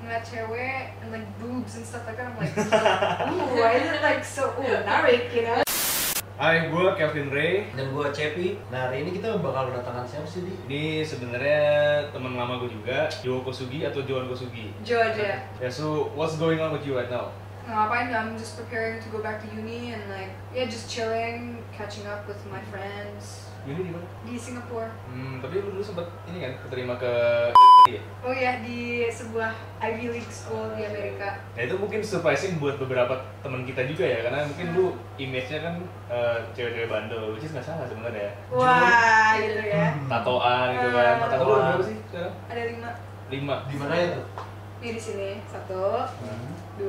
ngeliat cewek and like boobs and stuff like that, I'm like, ooh, why is it like so narik, you know? Hai, gue Kevin Ray. Dan gue Cepi. Nah, hari ini kita bakal kedatangan siapa sih, Di? Ini sebenarnya teman lama gue juga, Jo Kosugi atau Joan Kosugi. Jo aja. Yeah, so what's going on with you right now? Ngapain? I'm just preparing to go back to uni and like, yeah, just chilling, catching up with my friends. Uni di mana? Di Singapura. Tapi lu dulu sempet ini kan, keterima ke ya? Oh ya, di sebuah Ivy League school di Amerika. Nah itu mungkin surprising buat beberapa teman kita juga ya, karena mungkin lu image-nya kan cewek-cewek bandel, which is nggak salah sebenarnya. Wah, gitu ya. Tatoan gitu kan. Tato lu berapa sih sekarang? Ada 5. 5. Di mana itu? Nih di sini 1, 2,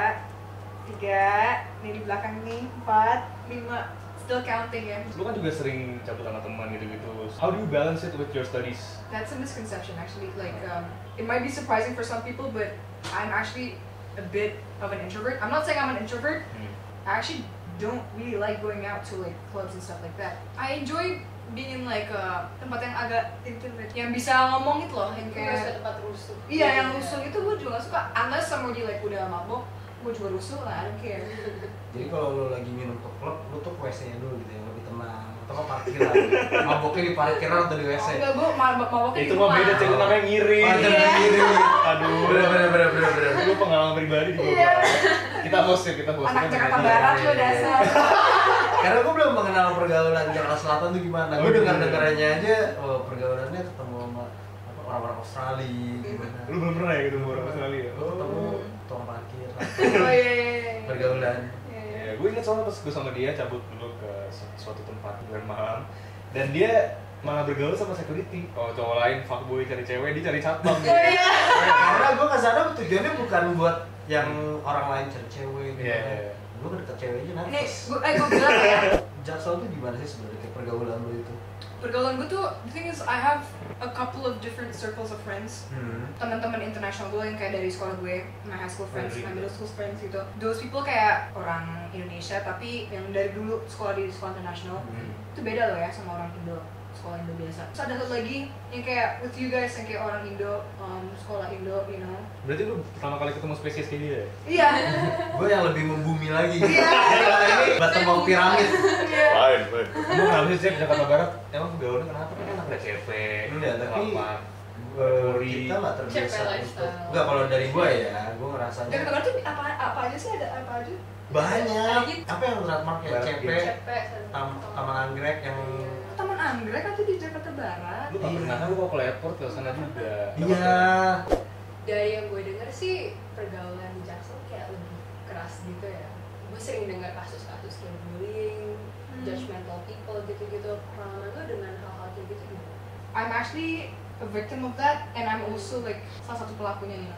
3. Nih di belakang nih 4, 5. Still counting ya. Lu kan juga sering cabut sama teman gitu-gitu. How do you balance it with your studies? That's a misconception actually. Like, it might be surprising for some people, but I'm actually a bit of an introvert. I'm not saying I'm an introvert. I actually don't really like going out to like clubs and stuff like that. I enjoy being in like tempat yang agak intimate, yang bisa ngomong itu loh, yang kayak tempat rusuh. Iya, yang rusuh itu gue juga gak suka. Unless somebody like udah mabok, gue juga rusuh lah, I don't care. Jadi kalau lu lagi minum ke klub, lu tuh ke WC-nya dulu gitu ya, lebih tenang. Atau ke parkiran. Maboknya di parkiran atau di WC? Enggak, gue maboknya di Itu rumah. mah beda, cewek namanya ngiri. Oh, itu namanya ngiri. Aduh, Bener. Lu pengalaman pribadi juga. Iya. Kita host ya, kita host. Anak Jakarta Barat lu dasar. Karena gue belum mengenal pergaulan Jakarta Selatan tuh gimana. Gue dengar-dengarannya aja, pergaulannya ketemu sama orang-orang Australia gimana. Lu belum pernah ya ketemu orang Australia? Ketemu tukang parkir. Oh iya. Pergaulan. Ya, gue ingat soalnya pas gue sama dia cabut dulu ke suatu tempat di malam, dan dia malah bergaul sama security. Oh, cowok lain fuckboy cari cewek, dia cari satpam. Iya. Karena gue kesana tujuannya bukan buat yang orang lain cari cewek gitu. Iya. Gue deket cewek aja Nih, nervous. gue bilang ya. Jaksel tuh gimana sih sebenarnya kayak pergaulan lu itu? Pergaulan gue tuh, the thing is I have a couple of different circles of friends. Teman-teman international gue yang kayak dari sekolah gue, my high school friends, my middle school friends gitu. Those people kayak orang Indonesia tapi yang dari dulu sekolah di sekolah internasional. Itu beda loh ya sama orang Indo, sekolah Indo biasa. Terus ada satu lagi yang kayak with you guys yang kayak orang Indo, sekolah Indo, you know. Berarti lu pertama kali ketemu spesies kayak dia ya? Iya. Gue yang lebih membumi lagi. Iya. Ini batu mau piramid. Iya. Fine. Emang kenapa sih Cep, Jakarta Barat? Emang pergaulannya kenapa? Kan enak ada CP, Enggak, tapi kelapa. kita nggak terbiasa CP untuk. lifestyle. Enggak, kalau dari gue ya, gue ngerasanya Jakarta Barat tuh apa aja sih, ada apa aja? banyak. Apa yang trademark ya? Barat CP, Cepet. Taman Anggrek yang Taman Anggrek kan tuh di Jakarta Barat. Lu gak pernah kan, lu kalau ke airport ke sana juga. iya. Dari yang gue denger sih pergaulan di Jaksel kayak lebih keras gitu ya. Gue sering dengar kasus-kasus kayak bullying, judgmental people gitu-gitu. Pengalaman lo dengan hal-hal kayak gitu gimana? I'm actually a victim of that, and I'm also like salah satu pelakunya, you know.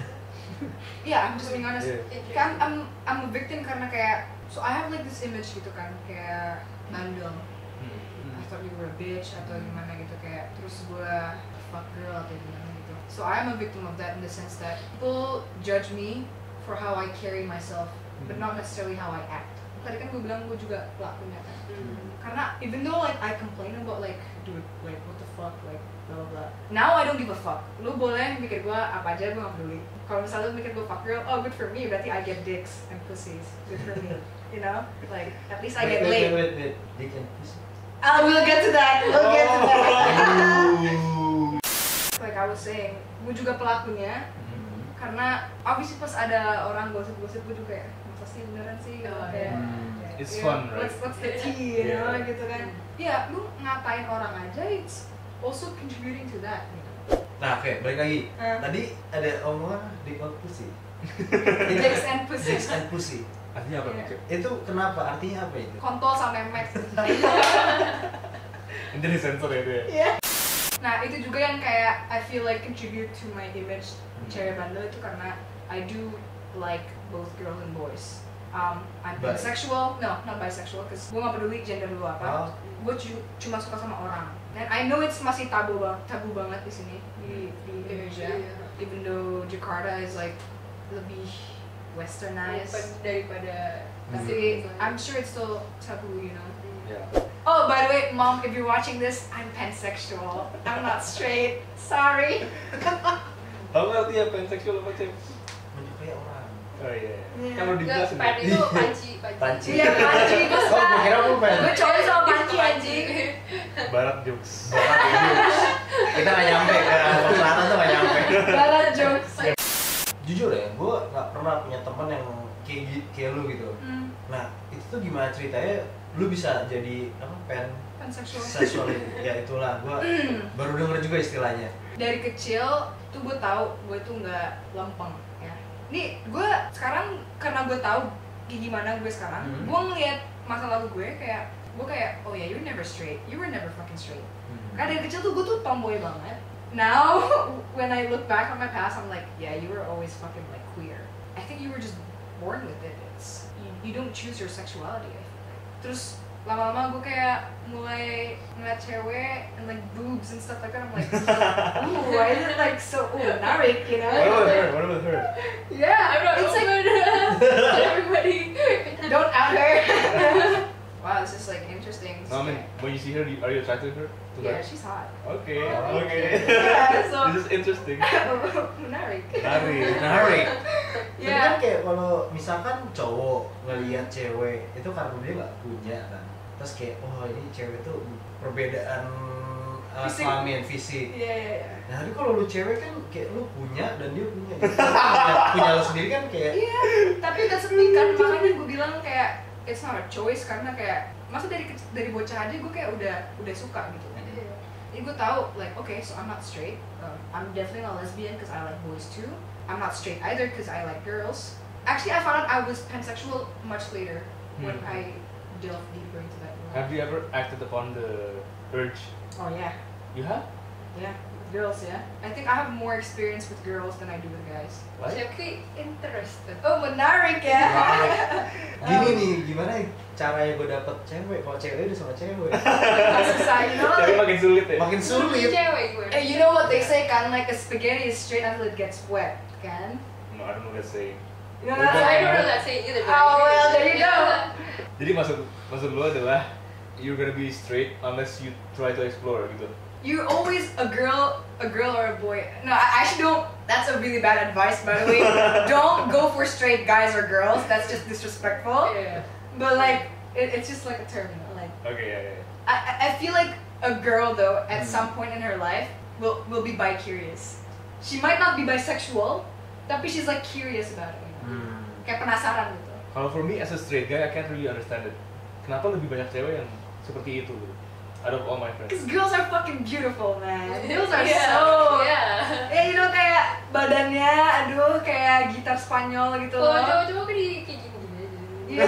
Yeah, I'm just being honest. Yeah. Kayak I'm a victim karena kayak, so I have like this image gitu kan, kayak bandel. I thought you were a bitch atau gimana gitu, kayak terus gue fuck girl atau gimana gitu. So I'm a victim of that in the sense that people judge me for how I carry myself, but not necessarily how I act. Tadi kan gue bilang gue juga pelakunya kan. Karena even though like I complain about like, dude, like what the fuck, like blah blah blah. Now I don't give a fuck. Lu boleh mikir gue apa aja, gue gak peduli. Kalau misalnya lu mikir gue fuck girl, oh good for me, berarti I get dicks and pussies. Good for me, you know? Like at least I get laid. Wait. Dick and pussy. We'll get to that. We'll get to that. Like I was saying, gue juga pelakunya. Karena obviously pas ada orang gosip-gosip gue juga ya, masa sih beneran sih gitu kayak. It's Yeah, fun, right? What's the tea, you know, Yeah. gitu kan. Ya, lu ngatain orang aja, it's also contributing to that, gitu. Nah, oke, balik lagi. Tadi ada omongan dick and pussy. Dicks and pussies. Dicks and pussy. Artinya apa Iya. nih Cep? Itu kenapa? Artinya apa itu? Kontol sama memek. Ini disensor ya itu ya? Iya. Nah, itu juga yang kayak I feel like contribute to my image cewek bandel itu karena I do like both girls and boys. I'm bisexual, no, not bisexual, cause gue gak peduli gender lu apa. Gue cuma suka sama orang. And I know it's masih tabu banget di sini di Indonesia. Even though Jakarta is like lebih westernized daripada tapi I'm sure it's still taboo, you know. Yeah. Oh, by the way, Mom, if you're watching this, I'm pansexual. I'm not straight. Sorry. Aku ngerti ya pansexual apa cewek? Menyukai orang. Oh iya. Iya. Kan udah Enggak, dijelasin. pen itu panci. Panci. Iya, panci gue Oh, gue kira lu pen. Gue cowok sama panci anjing. Barat jokes. Kita nggak nyampe ke selatan tuh nggak nyampe. Barat jokes. Jujur ya, gue nggak pernah punya teman yang kayak lu gitu. Nah, itu tuh gimana ceritanya? Lu bisa jadi apa Pansexual. seksual ya itulah. Gue baru denger juga istilahnya. Dari kecil tuh gue tahu gue tuh nggak lempeng ya. Nih gue sekarang karena gue tahu gimana gue sekarang, gue ngeliat masa lalu gue kayak oh ya you're never straight, you were never fucking straight. Karena dari kecil tuh gue tuh tomboy banget. Now when I look back on my past, I'm like yeah you were always fucking like queer. I think you were just born with it. It's you don't choose your sexuality. I feel like. Terus lama-lama gue kayak mulai ngeliat cewek and like boobs and stuff like that. I'm like, ooh, why is it like so menarik, you know? What about her? Yeah, I'm not it's like everybody. don't out her. Wow, this is like interesting. No, I mean, when you see her, are you attracted to her? Yeah, she's hot. Okay, Oh, okay. Yeah, so This is interesting. menarik. Menarik. Tapi kan Yeah. kayak kalau misalkan cowok ngelihat cewek itu karena dia nggak punya kan. Terus kayak oh ini cewek tuh perbedaan Fisik. kelamin fisik. Iya, iya, iya. Nah, tapi kalau lu cewek kan kayak lu punya dan dia punya. Gitu. Punya lu sendiri kan kayak Iya, tapi that's the thing kan, makanya gue bilang kayak it's not a choice karena kayak masa dari bocah aja gue kayak udah suka gitu kan. Jadi gue tahu like okay so I'm not straight, I'm definitely not lesbian because I like boys too. I'm not straight either because I like girls. Actually, I found out I was pansexual much later when I delved deeper into that world. Have you ever acted upon the urge? Oh yeah, You have? yeah, with girls yeah. I think I have more experience with girls than I do with guys. Why? Jeffrey interested. Oh menarik ya. gini nih gimana caranya gue dapet cewek kalau cewek udah sama cewek Susah, you know. Tapi makin sulit ya? makin sulit. Cewek gue. You know what they say kan, like a spaghetti is straight until it gets wet, kan? No, I don't know that saying. You know Udah. that? I don't know that saying either. Oh well, there you go. Jadi maksud lo adalah you're gonna be straight unless you try to explore gitu. You're always a girl or a boy. No, I actually don't. That's a really bad advice, by the way. Don't go for straight guys or girls. That's just disrespectful. Yeah. But like, it's just like a term, you know? Like, Okay, yeah. I feel like a girl though, at some point in her life, will be bi-curious. She might not be bisexual, tapi she's like curious about it. You know? Kayak penasaran gitu. Kalau for me as a straight guy, I can't really understand it. Kenapa lebih banyak cewek yang seperti itu gitu? Out of all my friends. Cause girls are fucking beautiful, man. Girls are Yeah. so. Yeah. Ya, you know kayak badannya, aduh kayak gitar Spanyol gitu Kalau loh. cowok-cowok kan kayak gini-gini aja. Iya.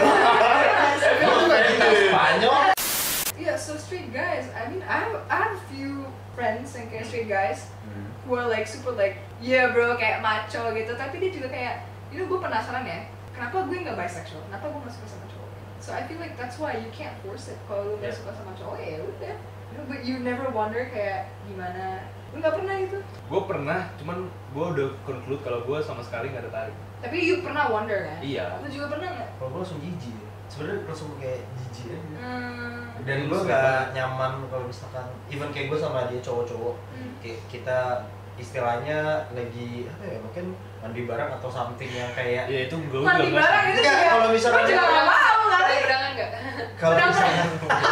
Emang lu nggak bisa Spanyol? Yeah, so straight guys. I mean, I have a few friends yang kayak straight guys who are like super like, yeah bro, kayak macho gitu. Tapi dia juga kayak, you know, gue penasaran ya. Kenapa gue nggak bisexual? Kenapa gue nggak suka sama cowok? So I feel like that's why you can't force it. Kalau lu nggak suka sama cowok ya udah. You know, but you never wonder kayak gimana. Lu nggak pernah gitu? Gue pernah, cuman gue udah conclude kalau gue sama sekali nggak ada tarik. Tapi you pernah wonder kan? Iya. Lu juga pernah nggak? Kalau gue langsung jijik. Sebenarnya langsung kayak jijik aja. Dan Hmm. gue nggak nyaman kalau misalkan even kayak gue sama dia cowok-cowok kayak kita istilahnya lagi apa ya mungkin mandi bareng atau something yang kayak Ya itu gue Mandi bareng itu Enggak, juga. kalau misalkan Gue juga nggak mau Ada kan? gerangan nggak? kalau misalkan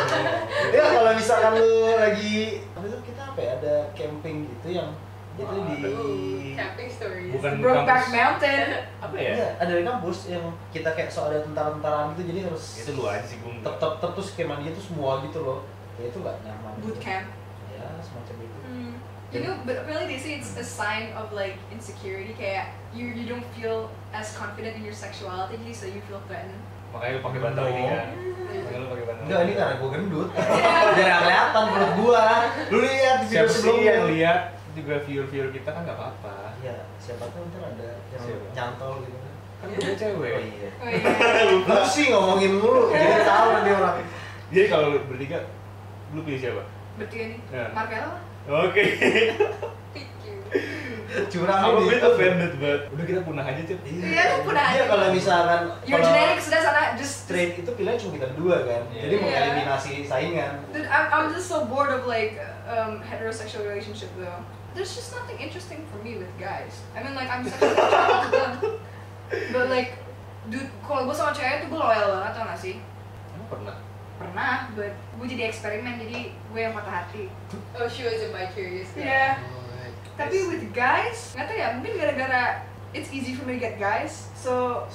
ya kalau misalkan lu lagi apa itu kita apa ya ada camping gitu yang itu di Camping stories. Bukan Brokeback kampus. Mountain. Apa ya? Iya, ada di kampus yang kita kayak so ada tentara-tentaraan gitu jadi harus Itu lu aja sih gue enggak. tetap terus kayak mandi itu semua gitu loh ya itu nggak nyaman Boot camp. ya semacam itu You know, but really they say it's a sign of like insecurity. Kayak you don't feel as confident in your sexuality, so you feel threatened. Makanya lu pakai bantal ini kan. Makanya lu pakai bantal. enggak ini karena gue gendut biar nggak kelihatan perut gua lu lihat di video Siapa sih sebelumnya yang lihat juga viewer kita kan nggak apa-apa. ya siapa tahu ntar ada yang Siapa? nyantol gitu kan Kan udah cewek. oh iya Oh iya. lu sih ngomongin mulu jadi tahu dia orang Jadi kalau lu bertiga, lu pilih siapa? Bertiga nih. Ya. Marvella? Oke. Thank you. curang I'm a ini bit offended, but udah kita punah aja Cip. Iya, aku punah Iya, aja. kalau misalkan Your kalau genetics sudah sana just straight itu pilihan cuma kita berdua kan Iya. jadi Iya. mengeliminasi saingan Dude, I'm just so bored of like heterosexual relationship though. there's just nothing interesting for me with guys. I mean like I'm such a child to them. But like, dude, kalau gue sama cewek tuh gue loyal banget, tau gak sih? Emang pernah? Pernah, but gue jadi eksperimen, jadi gue yang patah hati. Oh, she was a bi-curious guy. Yeah. Tapi with guys, nggak tau ya, mungkin gara-gara it's easy for me to get guys, so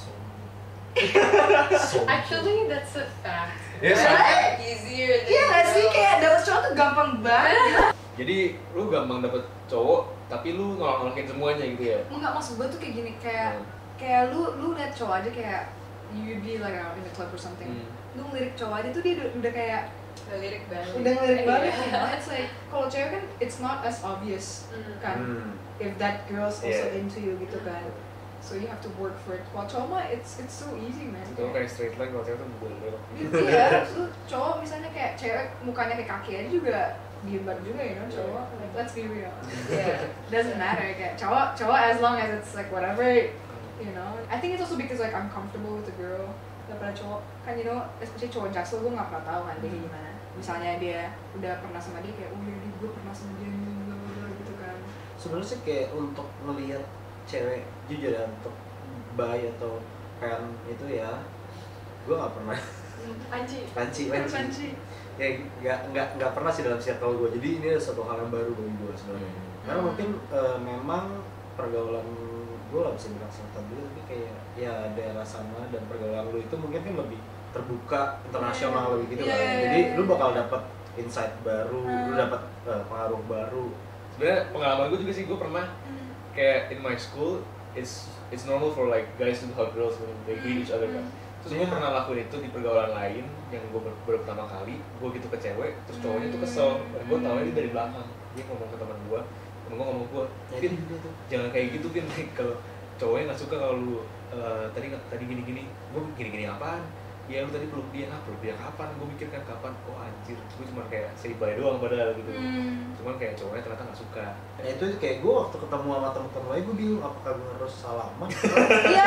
Actually, that's a fact. Yes, Right? Easier than iya nggak sih, girls. kayak dapet cowok tuh gampang banget. Jadi lu gampang dapet cowok, tapi lu nolak-nolakin semuanya gitu ya? Enggak, maksud gue tuh kayak gini, kayak lu liat cowok aja kayak you be like in the club or something. Lu ngelirik cowok aja tuh dia udah kayak Ngelirik banget. udah ngelirik banget. Iya. You know? It's like kalau cewek kan it's not as obvious kan, if that girl's also Yeah. into you gitu kan. So you have to work for it. Kalau cowok mah it's so easy man. Itu kayak straight line, kalau cewek tuh belok. Iya, lu cowok misalnya kayak cewek mukanya kayak kaki aja juga diembat juga you know cowok. Like let's be real. Yeah, doesn't matter kayak cowok as long as it's like whatever, you know. I think it's also because like I'm comfortable with the girl daripada cowok. Kan you know, especially cowok jaksel gue nggak pernah tahu kan dia kayak gimana. Misalnya dia udah pernah sama dia kayak oh iya gue pernah sama dia gitu kan. Sebenarnya sih kayak untuk ngelihat cewek jujur ya, untuk bi atau fan itu ya, gue nggak pernah panci ya nggak pernah sih dalam circle gue. Jadi ini adalah satu hal yang baru bagi gue sebenarnya. Karena mungkin memang pergaulan gue lah bisa bilang selatan dulu, tapi kayak ya daerah sana dan pergaulan lu itu mungkin kan lebih terbuka, internasional lebih gitu kan. Jadi lu bakal dapat insight baru, lu dapat pengaruh baru. Sebenarnya pengalaman gue juga sih, gue pernah kayak in my school it's normal for like guys to hug girls when they greet each other kan. Terus gue pernah lakuin itu di pergaulan lain yang gue baru pertama kali, gue gitu ke cewek, terus cowoknya tuh kesel, dan gue tau ini dari belakang. Dia ngomong ke teman gue ngomong ke gue, Vin, jangan kayak gitu Vin, kalau cowoknya nggak suka kalau lu tadi gini-gini, gue gini-gini apaan? Ya lu tadi peluk dia kapan? Gue mikir kan kapan? Oh anjir, gue cuma kayak say bye doang padahal gitu. Cuman kayak cowoknya ternyata nggak suka. Nah itu kayak gue waktu ketemu sama temen-temen lain, gue bingung apakah gue harus salaman? Iya.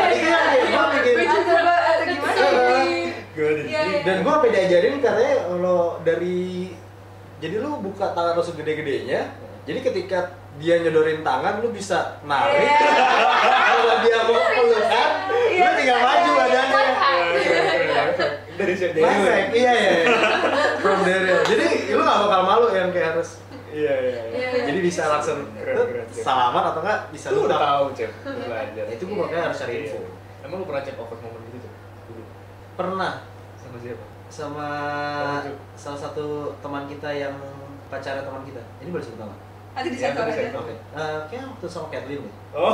Atau gimana? Dan gue sampai diajarin katanya kalau dari jadi lu buka tangan lu segede-gedenya, jadi ketika dia nyodorin tangan lu bisa narik. Kalau dia mau pelukan, lu tinggal maju badannya. Dari situ. Iya. From there. Jadi lu gak bakal malu yang kayak harus. Iya. Jadi bisa langsung Keren. salaman atau enggak bisa Lu lu udah tahu cek, belajar. Itu gue makanya harus cari info. Emang lu pernah cek over moment gitu tuh? Dulu. Pernah Sama siapa? sama salah satu teman kita yang pacarnya teman kita. Ini boleh sebut nama? Nanti disensor aja. Oke. Kayaknya waktu sama Kathleen deh. Oh.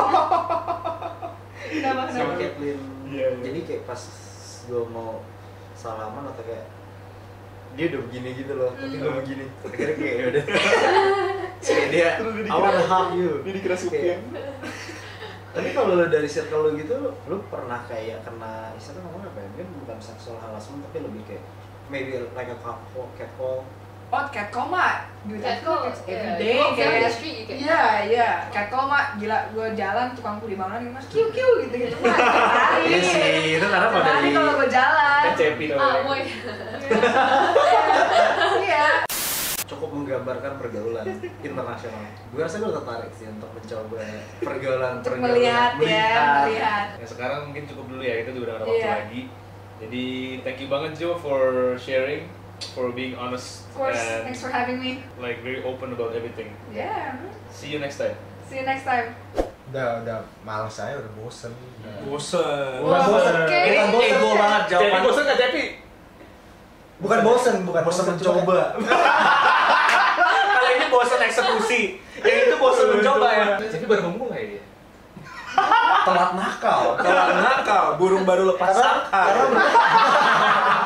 Kenapa? Sama Kathleen. Iya. Jadi kayak pas gue mau salaman atau kayak dia udah begini gitu loh, tapi gue begini. Akhirnya kayak ya udah. Kayak dia, I wanna hug you. Dia dikira supir. Tapi kalau lo dari circle lo gitu, lo pernah kayak kena istilahnya ngomong apa ya? Mungkin bukan sexual harassment tapi lebih kayak maybe like a catcall. Oh, catcall mah, dude, Catcall, every yeah. day Walk down kayak the street, you get Iya, catcall mah gila, gue jalan tukang kuli bangunan gitu mas, kiu gitu mah hari. Iya sih, itu karena kalau Hari dari kalau gue jalan. Kan cepi Moy. Iya. cukup menggambarkan pergaulan internasional. Gue rasa gue tertarik sih untuk mencoba pergaulan Untuk melihat. Nah, sekarang mungkin cukup dulu ya, kita juga udah gak ada waktu lagi. Jadi thank you banget Jo for sharing, for being honest, Of course, and thanks for having me. like very open about everything. Yeah. See you next time. See you next time. Udah malas saya, udah bosen. Bosen. Wah, oke. Bukan bosen. Ego banget jawaban. Bosen nggak Cepi? Bukan bosen mencoba. Kalau ini bosan eksekusi, yang itu bosan mencoba ya. Cepi baru memulai dia. Telat nakal, burung baru lepas sangkar.